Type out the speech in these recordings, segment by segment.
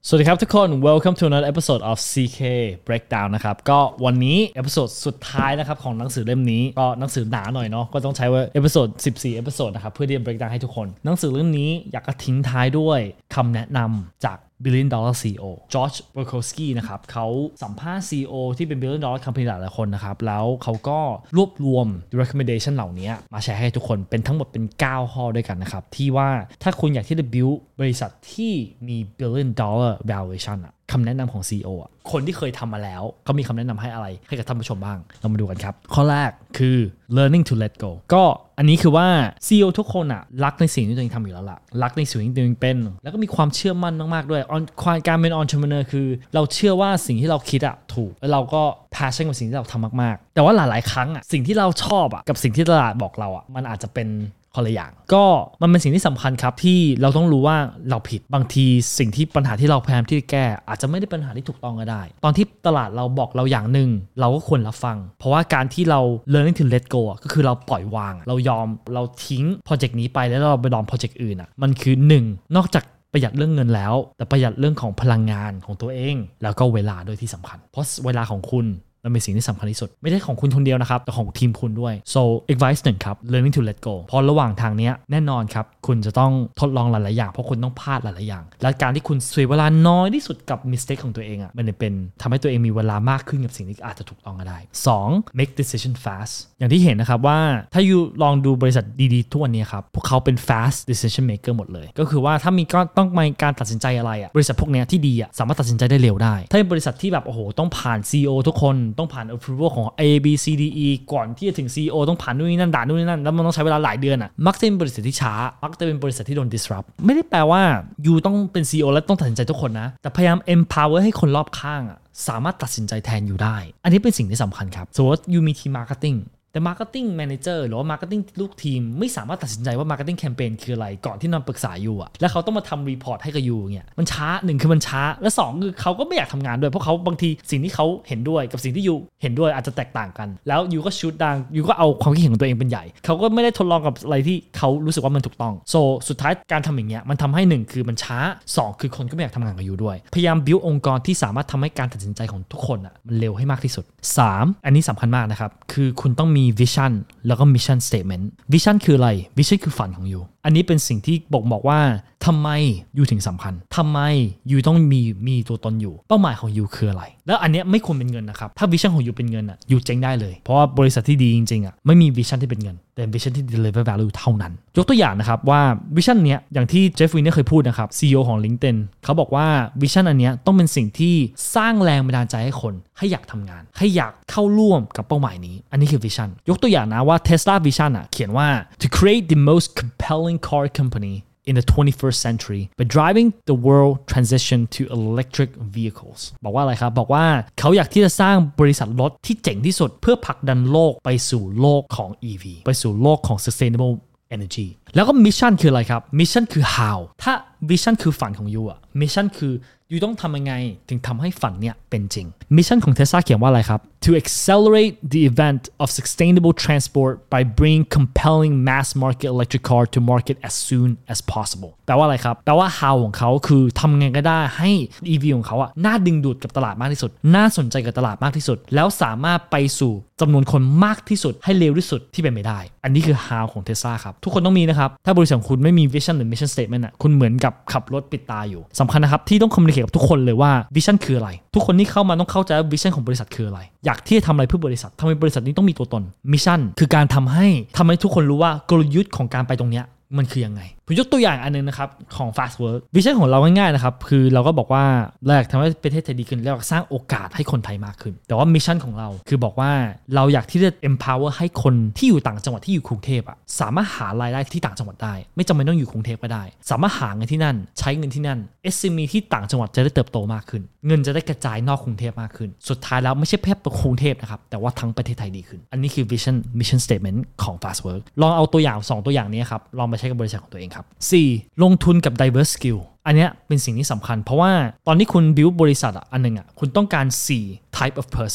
สวัสดีครับทุกคน Welcome to another episode of CK Breakdown นะครับก็วันนี้เอพิโซดสุดท้ายนะครับของหนังสือเล่มนี้ก็หนังสือหนาหน่อยเนาะก็ต้องใช้ว่าเอพิโซด14เอพิโซดนะครับเพื่อที่จะ breakdown ให้ทุกคนหนังสือเล่มนี้อยากจะทิ้งท้ายด้วยคำแนะนำจาก Billion Dollar CEO จอร์จ เบอร์โคสกี้นะครับเขาสัมภาษณ์ CEO ที่เป็น Billion Dollar Company หลายๆคนนะครับแล้วเขาก็รวบรวม recommendation เหล่านี้มาแชร์ให้ทุกคนเป็นทั้งหมดเป็น9ข้อด้วยกันนะครับที่ว่าถ้าคุณอยากที่จะ build บริษัทที่มี Billion Dollar valuation คำแนะนำของ CEO คนที่เคยทำมาแล้วเขามีคำแนะนำให้อะไรให้กับท่านผู้ชมบ้างเรามาดูกันครับข้อแรกคือ learning to let go ก็อันนี้คือว่า CEO ทุกคนรักในสิ่งที่ตัวเองทำอยู่แล้วล่ะรักในสิ่งที่ตัวเองเป็นแล้วก็มีความเชื่อมั่นมากๆด้วยการเป็น entrepreneur คือเราเชื่อว่าสิ่งที่เราคิดถูกแล้วเราก็ passion กับสิ่งที่เราทำมากๆแต่ว่าหลายๆครั้งสิ่งที่เราชอบกับสิ่งที่ตลาดบอกเรามันอาจจะเป็นคนละอย่างก็มันเป็นสิ่งที่สำคัญครับที่เราต้องรู้ว่าเราผิดบางทีสิ่งที่ปัญหาที่เราพยายามที่จะแก้อาจจะไม่ได้เป็นปัญหาที่ถูกต้องก็ได้ตอนที่ตลาดเราบอกเราอย่างหนึ่งเราก็ควรรับฟังเพราะว่าการที่เรา learning to let go ก็คือเราปล่อยวางเรายอมเราทิ้งโปรเจกต์นี้ไปแล้วเราไปลองโปรเจกต์อื่นมันคือ1นอกจากประหยัดเรื่องเงินแล้วแต่ประหยัดเรื่องของพลังงานของตัวเองแล้วก็เวลาด้วยที่สำคัญเพราะเวลาของคุณมันเป็นสิ่งที่สำคัญที่สุดไม่ใช่ของคุณคนเดียวนะครับแต่ของทีมคุณด้วย so advice 1ครับ learning to let go เพราะระหว่างทางนี้แน่นอนครับคุณจะต้องทดลองหลายๆอย่างเพราะคุณต้องพลาดหลายๆอย่างและการที่คุณเสียเวลาน้อยที่สุดกับ mistake ของตัวเองมันจะเป็นทำให้ตัวเองมีเวลามากขึ้นกับสิ่งที่อาจจะถูกต้องก็ได้ 2 make decision fast อย่างที่เห็นนะครับว่าถ้าอยู่ลองดูบริษัทดีๆทุกวันนี้ครับพวกเขาเป็น fast decision maker หมดเลยก็คือว่าถ้ามีก็ต้องมีการตัดสินใจอะไรบริษัทพวกนี้ที่ดีสามารถตัดสินใจได้เร็วได้ถ้าเป็นบริษัทที่แบบโอ้โหต้องผ่าน CEO ทุกคนต้องผ่าน approvalของ A B C D E ก่อนที่จะถึง CEO ต้องผ่านนู่นนี่นั่นด่านนู่นนี่นั่นแล้วมันต้องใช้เวลาหลายเดือนมักจะเป็นบริษัทที่ช้ามักจะเป็นบริษัทที่โดน disrupt ไม่ได้แปลว่ายูต้องเป็น CEO แล้วต้องตัดสินใจทุกคนนะแต่พยายาม empower ให้คนรอบข้างสามารถตัดสินใจแทนอยู่ได้อันนี้เป็นสิ่งที่สำคัญครับสมมติยูมีทีม marketingแต่ Marketing Manager หรือว่า Marketing ลูกทีมไม่สามารถตัดสินใจว่า Marketing Campaign คืออะไรก่อนที่นอนปรึกษาอยู่แล้วเขาต้องมาทำรีพอร์ตให้กับยูเนี่ยมันช้า1คือมันช้าและ2คือเขาก็ไม่อยากทำงานด้วยเพราะเขาบางทีสิ่งที่เขาเห็นด้วยกับสิ่งที่ยูเห็นด้วยอาจจะแตกต่างกันแล้วยูก็ชูดดังยูก็เอาความคิดเห็นของตัวเองเป็นใหญ่เขาก็ไม่ได้ทดลองกับอะไรที่เขารู้สึกว่ามันถูกต้องสุดท้ายการทำอย่างเงี้ยมันทำให้1คือมันช้า2คือคนก็ไม่อยากทำงานกับยูด้วยพยายาม build องค์กรที่สามารถทำให้การตัดสินใจของทุกคนมันเร็วให้มากที่สุด3อันนี้สำคัญมากนะครับคือคุณต้องมี visionแล้วก็ mission statement vision คืออะไร vision คือฝันของยูอันนี้เป็นสิ่งที่บอกว่าทำไมยูถึงสำคัญทำไมยูต้องมีตัวตนอยู่เป้าหมายของยูคืออะไรแล้วอันนี้ไม่ควรเป็นเงินนะครับถ้า vision ของยูเป็นเงินยูเจ๊งได้เลยเพราะว่าบริษัทที่ดีจริงๆไม่มี vision ที่เป็นเงินแต่ vision ที่ deliver value เท่านั้นยกตัวอย่างนะครับว่า vision เนี้ยอย่างที่เจฟฟรีเนี่ยเคยพูดนะครับ CEO ของ LinkedIn เขาบอกว่า vision อันเนี้ยต้องเป็นสิ่งที่สร้างแรงบันดาลใจให้คนให้อยากทำงานให้อยากเข้าร่วมกับเป้าหมายนี้อันนี้คือ vision ยกตัวอย่างนะว่า Tesla vision เขียนว่า to create the most compelling car company in the 21st century by driving the world transition to electric vehicles บอกว่าอะไรครับบอกว่าเขาอยากที่จะสร้างบริษัทรถที่เจ๋งที่สุดเพื่อผลักดันโลกไปสู่โลกของ EV ไปสู่โลกของ sustainable energy แล้วก็ mission คืออะไรครับ mission คือ how ถ้า vision คือฝันของยูmission คือยูต้องทำยังไงถึงทำให้ฝันเนี่ยเป็นจริง mission ของ Tesla เขียนว่าอะไรครับ to accelerate the event of sustainable transport by bringing compelling mass market electric car to market as soon as possible แปลว่าอะไรครับแปลว่า how ของเขาคือทำไงก็ได้ให้ EV ของเขาน่าดึงดูดกับตลาดมากที่สุดน่าสนใจกับตลาดมากที่สุดแล้วสามารถไปสู่จำนวนคนมากที่สุดให้เร็วที่สุดที่เป็นไปได้อันนี้คือ how ของ Tesla ครับทุกคนต้องมีนะครับถ้าบริษัทของคุณไม่มี vision หรือ mission statement คุณเหมือนกับขับรถปิดตาอยู่สำคัญนะครับที่ต้อง communicate กับทุกคนเลยว่า vision คืออะไรทุกคนที่เข้ามาต้องเข้าใจว่า vision ของบริษัทคืออะไรอยากที่จะทำอะไรเพื่อบริษัททำไมบริษัทนี้ต้องมีตัวตน mission คือการทำให้ทุกคนรู้ว่ากลยุทธ์ของการไปตรงเนี้ยมันคือยังไงผมยกตัวอย่างอันนึงนะครับของ Fast Work Vision ของเราง่ายๆนะครับคือเราก็บอกว่าแรกทำให้ประเทศไทยดีขึ้นแล้วสร้างโอกาสให้คนไทยมากขึ้นแต่ว่า Mission ของเราคือบอกว่าเราอยากที่จะ empower ให้คนที่อยู่ต่างจังหวัดที่อยู่กรุงเทพสามารถหารายได้ที่ต่างจังหวัดได้ไม่จำเป็นต้องอยู่กรุงเทพก็ได้สามารถหาเงินที่นั่นใช้เงินที่นั่น SME ที่ต่างจังหวัดจะได้เติบโตมากขึ้นเงินจะได้กระจายนอกกรุงเทพมากขึ้นสุดท้ายแล้วไม่ใช่แค่กรุงเทพนะครับแต่ว่าทั้งประเทศไทยดีขึ้นอันนี้คือ Vision Mission Statement ของ Fast Work ลองเอาตัวอย่าง2ตัวอย่างนี้ครับลองไปใช้กับบริษัทของตัวเองครับ 4. ลงทุนกับ diverse skill อันนี้เป็นสิ่งที่สำคัญเพราะว่าตอนที่คุณ build บริษัทอันนึงคุณต้องการ4 type of person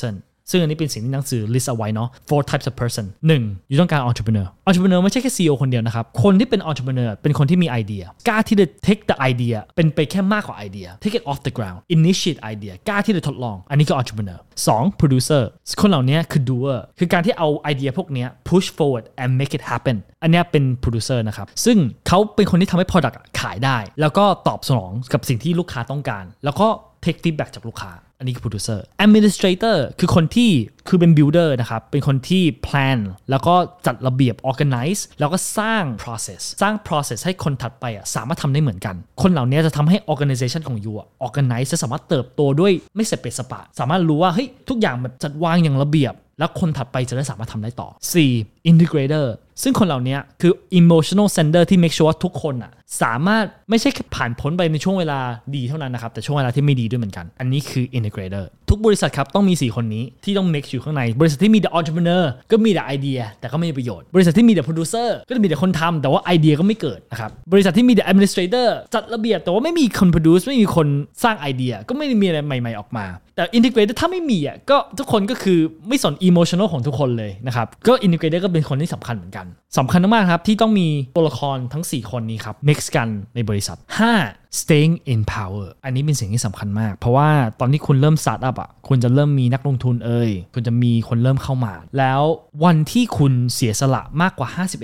ซึ่งอันนี้เป็นสิ่งที่หนังสือ list เอาไว้เนาะ four types of person 1. อยู่ต้องการ entrepreneur ไม่ใช่แค่ CEO คนเดียวนะครับคนที่เป็น entrepreneur เป็นคนที่มีไอเดียกล้าที่จะ take the idea เป็นไปแค่มากกว่าไอเดีย take it off the ground initiate idea กล้าที่จะทดลองอันนี้ก็ entrepreneur 2. producer คนเหล่านี้คือ doer คือการที่เอาไอเดียพวกนี้ push forward and make it happen อันนี้เป็น producer นะครับซึ่งเขาเป็นคนที่ทำให้ product ขายได้แล้วก็ตอบสนองกับสิ่งที่ลูกค้าต้องการแล้วก็ take feedback จากลูกค้าอันนี้คือ producer administrator คือคนที่คือเป็น builder นะครับเป็นคนที่ plan แล้วก็จัดระเบียบ organize แล้วก็สร้าง process ให้คนถัดไปสามารถทำได้เหมือนกันคนเหล่านี้จะทำให้ organization ของ you organize จะสามารถเติบโตด้วยไม่เสร็จสปะสามารถรู้ว่าเฮ้ยทุกอย่างแบบจัดวางอย่างระเบียบแล้วคนถัดไปจะได้สามารถทำได้ต่อ 4. integrator ซึ่งคนเหล่านี้คือ emotional sender ที่ make sure ว่าทุกคนสามารถไม่ใช่แค่ผ่านพ้นไปในช่วงเวลาดีเท่านั้นนะครับแต่ช่วงเวลาที่ไม่ดีด้วยเหมือนกันอันนี้คือ integrator ทุกบริษัทครับต้องมี4คนนี้ที่ต้อง mix อยู่ข้างในบริษัทที่มี the entrepreneur ก็มีแต่ไอเดียแต่ก็ไม่มีประโยชน์บริษัทที่มี the producer ก็จะมีแต่คนทำแต่ว่าไอเดียก็ไม่เกิดนะครับบริษัทที่มี the administrator จัดระเบียบแต่ว่าไม่มีคน produce ไม่มีคนสร้างไอเดียก็ไม่ได้มีอะไรใหม่ๆออกมาแต่ integrator ถ้าไม่มีก็ทุกคนก็คือไม่สน emotional ของทุกคนเลยนะครับก็ integrator ก็เป็นคนที่สำคัญเหมือนกันสำคัญมากครับที่ต้องมีตัวละครทั้ง4คนนี้ครับ mix กันในบริษัท 5. staying in power อันนี้เป็นสิ่งที่สำคัญมากเพราะว่าตอนที่คุณเริ่ม start up คุณจะเริ่มมีนักลงทุนคุณจะมีคนเริ่มเข้ามาแล้ววันที่คุณเสียสละมากกว่า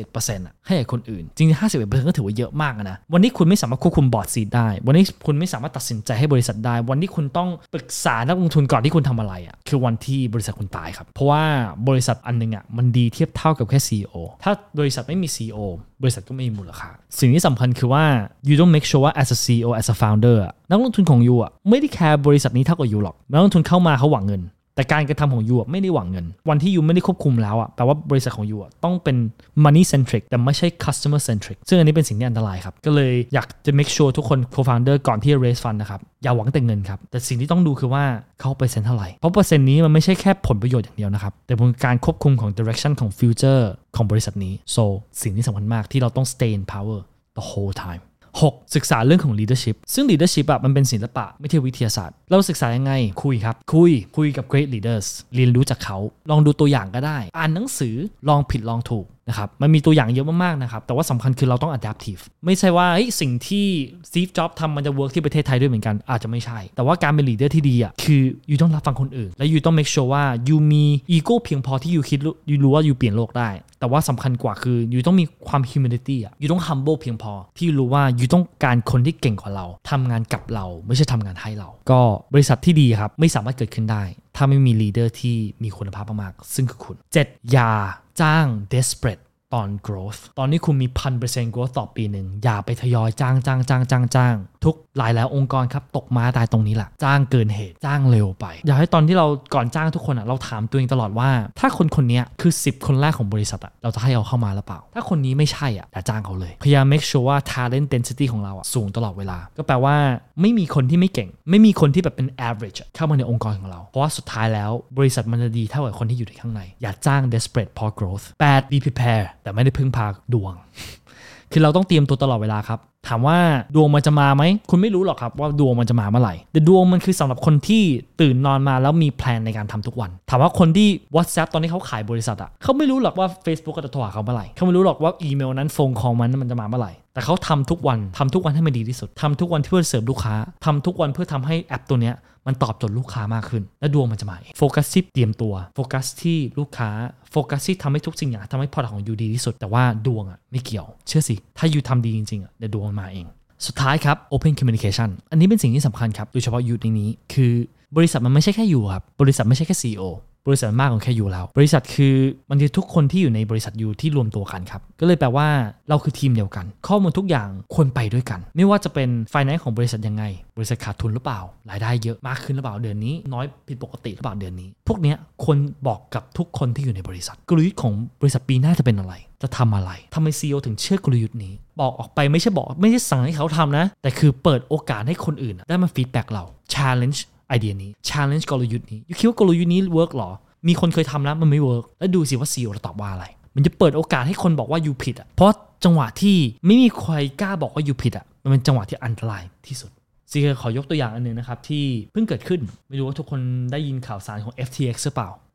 51% ให้กับคนอื่นจริงๆ 51% ก็ถือว่าเยอะมากนะวันนี้คุณไม่สามารถควบคุมบอร์ดซีทได้วันนี้คุณไม่สามารถตัดสินใจให้บริษัทได้วันที่คุณต้องปรึกษานักลงทุนก่อนที่คุณทำอะไรคือวันที่บริษัทคุณตายครับเพราะว่าบริษัทอันนึงมันดีเทียบเท่ากับแค่ CEO ถ้าบริษัทไม่มี CEO บริษัทก็ไม่มีมูลค่าสิ่งที่สำคัญคือว่า you don't make sure ว่า as a CEO as a founder นักลงทุนของ you ไม่ได้แคร์บริษัทนี้เท่ากับ you หรอกนักลงทุนเข้ามาเขาหวังเงินแต่การกระทำของ you ไม่ได้หวังเงินวันที่ you ไม่ได้ควบคุมแล้วแปลว่าบริษัทของ you ต้องเป็น money centric แต่ไม่ใช่ customer centric ซึ่งอันนี้เป็นสิ่งที่อันตรายครับก็เลยอยากจะ make sure ทุกคน co-founder ก่อนที่จะ raise fund นะครับอย่าหวังแต่เงินครับแต่สิ่งที่ต้องดูคือว่าเขาเปอร์เซ็นต์เท่าไหร่เพราะเปอร์เซ็นต์นี้มันไม่ใช่แค่ผลประโยชน์อย่างเดียวนะครับแต่เป็นการควบคุมของ direction ของ future ของบริษัทนี้ so สิ่งที่สำคัญมากที่เราต้อง stay in power the whole time6. ศึกษาเรื่องของ leadership ซึ่ง leadership มันเป็นศิลปะไม่ใช่วิทยาศาสตร์เราศึกษายังไงคุยครับคุยกับ great leaders เรียนรู้จากเขาลองดูตัวอย่างก็ได้อ่านหนังสือลองผิดลองถูกนะครับมันมีตัวอย่างเยอะมากๆนะครับแต่ว่าสำคัญคือเราต้อง adaptive ไม่ใช่ว่าสิ่งที่ Steve Jobs ทำมันจะ work ที่ประเทศไทยด้วยเหมือนกันอาจจะไม่ใช่แต่ว่าการเป็น leader ที่ดีคือ you ต้องรับฟังคนอื่นและ you ต้อง make sure ว่า you มี ego เพียงพอที่ you คิด you รู้ว่า you เปลี่ยนโลกได้แต่ว่าสำคัญกว่าคือ you ต้องมีความ humility you ต้อง humble เพียงพอที่รู้ว่า you ต้องการคนที่เก่งกว่าเราทำงานกับเราไม่ใช่ทำงานให้เราก็บริษัทที่ดีครับไม่สามารถเกิดขึ้นได้ถ้าไม่มี leader ที่มีคุณภาพมากๆซึ่งคือคุณ 7. อย่าจ้าง desperateตอน growth ตอนนี้คุณมี 1,000% growth ต่อปีหนึ่งอย่าไปทยอยจ้างทุกหลายองค์กรครับตกม้าตายตรงนี้แหละจ้างเกินเหตุจ้างเร็วไปอยากให้ตอนที่เราก่อนจ้างทุกคนเราถามตัวเองตลอดว่าถ้าคนนี้คือ10คนแรกของบริษัทเราจะให้เอาเข้ามาหรือเปล่าถ้าคนนี้ไม่ใช่อย่าจ้างเขาเลยพยายาม make sure ว่า talent density ของเราสูงตลอดเวลาก็แปลว่าไม่มีคนที่ไม่เก่งไม่มีคนที่แบบเป็น average เข้ามาในองค์กรของเราเพราะว่าสุดท้ายแล้วบริษัทมันจะดีเท่ากับคนที่อยู่ในข้างในอย่าจ้าง desperate for growth 8. be prepared แต่ไม่ได้พึ่งพาดวง คือเราต้องเตรียมตัวตลอดเวลาครับถามว่าดวงมันจะมาไหมคุณไม่รู้หรอกครับว่าดวงมันจะมาเมื่อไหร่แต่ดวงมันคือสำหรับคนที่ตื่นนอนมาแล้วมีแพลนในการทำทุกวันถามว่าคนที่ WhatsApp ตอนนี้เขาขายบริษัทเขาไม่รู้หรอกว่า Facebook จะโทรหาเขาเมื่อไหร่เขาไม่รู้หรอกว่าอีเมลนั้นโฟนคอลมันจะมาเมื่อไหร่แต่เขาทำทุกวันให้มันดีที่สุดทำทุกวันเพื่อเสิร์ฟลูกค้าทำทุกวันเพื่อทำให้แอปตัวเนี้ยมันตอบโจทย์ลูกค้ามากขึ้นและดวงมันจะมาโฟกัสที่เตรียมตัวโฟกัสที่ลูกค้าโฟกัสที่ทำให้ทุกสิ่งอย่างทำให้ product ของยูดีที่สุดแต่ว่าดวงไม่เกี่ยวเชื่อสิถ้ายูทำดีจริงๆเดี๋ยวดวงมันมาเองสุดท้ายครับ Open Communication อันนี้เป็นสิ่งที่สำคัญครับโดยเฉพาะยูในนี้คือบริษัทมันไม่ใช่แค่ยูครับบริษัทไม่ใช่แค่ CEO บริษัทมากกว่าแค่ยูแล้วบริษัทคือมันคือทุกคนที่อยู่ในบริษัทยูที่รวมตัวกันครับก็เลยแปลว่าเราคือทีมเดียวกันข้อมูลทุกอย่างควรไปด้วยกันไม่ว่าจะเป็น finance ของบริษัทยังไงบริษัทขาดทุนหรือเปล่ารายได้เยอะมากขึ้นหรือเปล่าเดือนนี้น้อยผิดปกติหรือเปล่าเดือนนี้พวกเนี้ยควรบอกกับทุกคนที่อยู่ในบริษัทกลยุทธ์ของบริษัทปีหน้าจะเป็นอะไรจะทำอะไรทำไม CEO ถึงเชื่อกลยุทธ์นี้บอกออกไปไม่ใช่สั่งให้เขาทำนะแต่คือเปิดโอกาสให้คนอื่นได้มาฟีดแบ็กเรา challenge ไอเดียนี้ challenge กลยุทธ์นี้คิดว่ากลยุทธ์นี้เวิร์กหรอมีคนเคยทำแล้วมันไม่เวิร์กแล้วดูสิว่า CEO จะตอบว่าอะไรมันจะเปิดโอกาสให้คนบอกว่ายูผิดเพราะจังหวะที่ไม่มีใครกล้าบอกว่ายูผิดมันเป็นจังหวะที่อันตรายที่สุดซีขอยกตัวอย่างอันนึงนะครับที่เพิ่งเกิดขึ้นไม่รู้ว่าทุกคนได้ยินข่าวสารของ FTX หรือเปล่า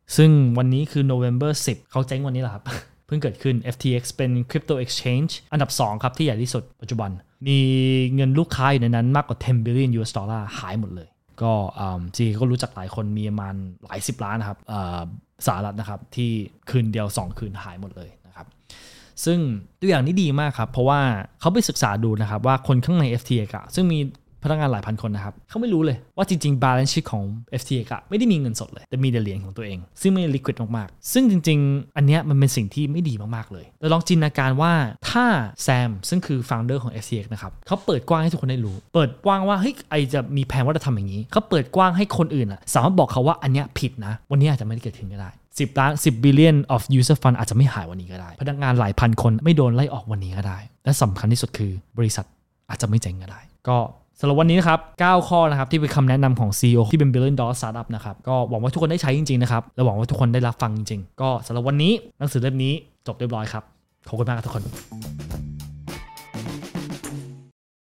ซึ่งวันนี้คือ November 10 เขาเจ๊งวันนี้แหละครับ เพิ่งเกิดขึ้น FTX เป็น Crypto Exchange อันดับ 2 ครับที่ใหญ่ที่สุดปัจจุบันมีเงินลูกค้าอยู่ในนั้นมากกว่า10 billion US dollar หายหมดเลยก็จีก็รู้จักหลายคนมีประมาณหลาย10 ล้านนะครับสหรัฐนะครับที่คืนเดียว2 คืนหายหมดเลยนะครับซึ่งตัวอย่างนี้ดีมากครับเพราะว่าเขาไปศึกษาดูนะครับว่าคนข้างใน FTX ซึ่งมีพนักงานหลายพันคนนะครับเขาไม่รู้เลยว่าจริงๆ balance sheet ของ FTX ไม่ได้มีเงินสดเลยแต่มีแต่เหรียญของตัวเองซึ่งไม่ liquid มากๆซึ่งจริงๆอันเนี้ยมันเป็นสิ่งที่ไม่ดีมากๆเลยเราลองจินตนาการว่าถ้าแซมซึ่งคือ founder ของ FTX นะครับเขาเปิดกว้างให้ทุกคนได้รู้เปิดกว้างว่าเฮ้ยไอจะมีแผนว่าจะทำอย่างนี้เขาเปิดกว้างให้คนอื่นสามารถบอกเขาว่าอันเนี้ยผิดนะวันนี้อาจจะไม่ได้เกิดขึ้นก็ได้10 billion of user fund อาจจะไม่หายวันนี้ก็ได้พนักงานหลายพันคนไม่โดนไล่ออกวันนี้ก็ได้และสำคัญที่สุดคือบริษัทอาจจะไม่เจ๊งก็ได้ก็สำหรับวันนี้นะครับ9ข้อนะครับที่เป็นคำแนะนำของ CEO ที่เป็น Billion Dollar Startup นะครับก็หวังว่าทุกคนได้ใช้จริงๆนะครับและหวังว่าทุกคนได้รับฟังจริงๆก็สำหรับวันนี้หนังสือเล่มนี้จบเรียบร้อยครับขอบคุณมากครับทุกคน